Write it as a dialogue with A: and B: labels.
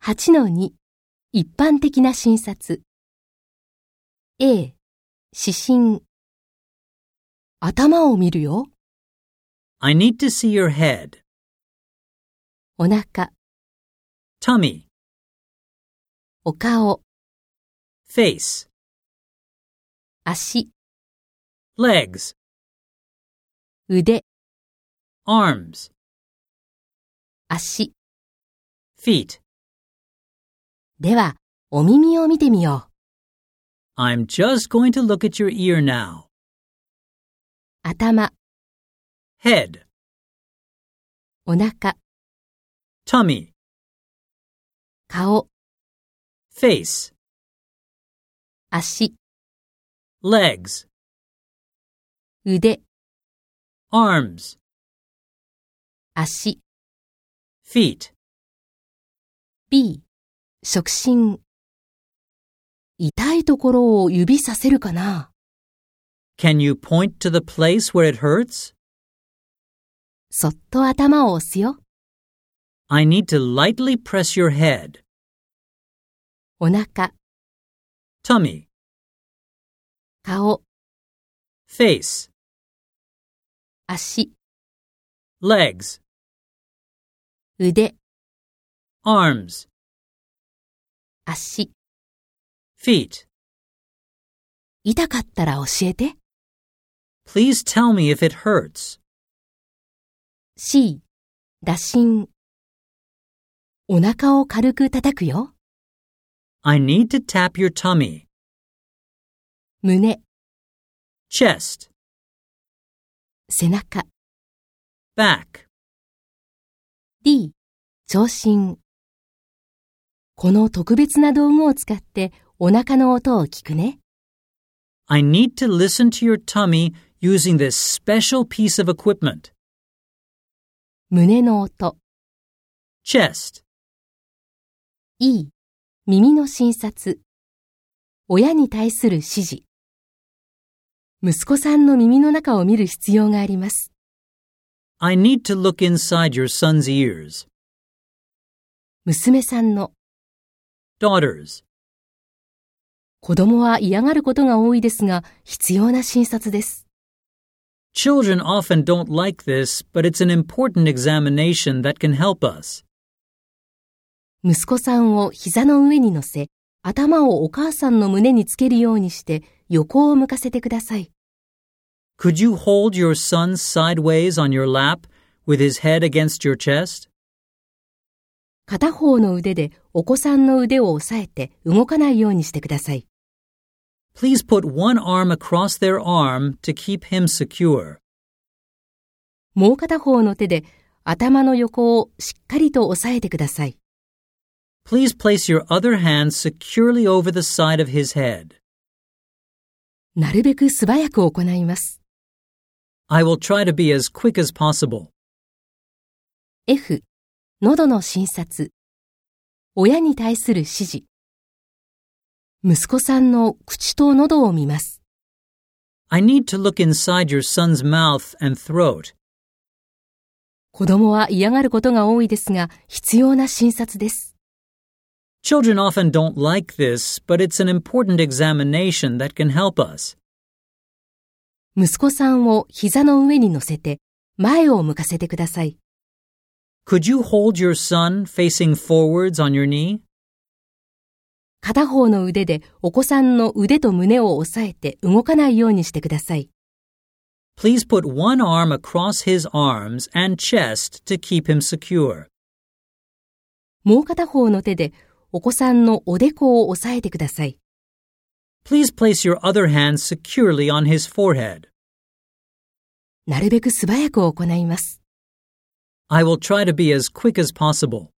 A: 8-2 一般的な診察 A 指針頭を見るよ
B: I need to see your head,
A: お腹
B: tummy,
A: お顔
B: face,
A: 足
B: legs,
A: 腕
B: arms,
A: 足
B: feet.
A: ではお耳を見てみよう
B: I'm just going to look at your ear now.
A: 頭
B: Head,
A: お腹
B: tummy,
A: 顔
B: face,
A: 足
B: legs,
A: 腕
B: arms,
A: 足
B: feet.
A: B 触診痛いところを指させるかな
B: Can you point to the place where it hurts?
A: そっと頭を押すよ
B: I need to lightly press your head,
A: お腹
B: tummy,
A: 顔
B: face,
A: 足
B: legs,
A: 腕
B: arms,
A: 足
B: feet.
A: 痛かったら教えて
B: Please tell me if it hurts.
A: C 打診お腹を軽く叩くよ
B: I need to tap your tummy,
A: 胸
B: chest,
A: 背中
B: back.
A: D 聴診この特別な道具を使ってお腹の音を聞くね
B: I need to listen to your tummy using this special piece of equipment.
A: 胸の音
B: Chest,
A: E 耳の診察親に対する指示息子さんの耳の中を見る必要があります
B: I need to look inside your son's ears.
A: 娘さんの
B: Daughters,
A: 子供は嫌がることが多いですが必要な診察です
B: children often don't like this, but it's an important examination that can help us.
A: 息子さんを膝の上に乗せ頭をお母さんの胸につけるようにして横を向かせてください
B: Could you hold your son sideways on your lap with his head against your chest?
A: 片方の腕でお子さんの腕を押さえて動かないようにしてください
B: Please put one arm across their arm to keep him secure.
A: もう片方の手で頭の横をしっかりと押さえてください
B: Please place your other hand securely over the side of his head.
A: なるべく素早く行います
B: I will try to be as quick as possible.
A: F 喉の診察親に対する指示息子さんの口と喉を見ます
B: I need to look inside your son's mouth and throat.
A: 子供は嫌がることが多いですが必要な診察です
B: Children often don't like this, but it's an important examination that can help us.
A: 息子さんを膝の上に乗せて前を向かせてください
B: Could you hold your son facing forwards on your knee?
A: 片方の腕でお子さんの腕と胸を押さえて動かないようにしてください
B: Please put one arm across his arms and chest to keep him secure.
A: もう片方の手でお子さんのおでこを押さえてください
B: Please place your other hand securely on his forehead.
A: なるべく素早く行います
B: I will try to be as quick as possible.